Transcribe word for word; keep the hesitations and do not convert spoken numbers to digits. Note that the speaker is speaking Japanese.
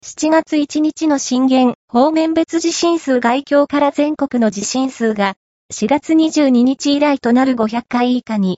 しちがついちにちの震源、方面別地震数概況から全国の地震数が、しがつにじゅうににち以来となるごひゃっかい以下に、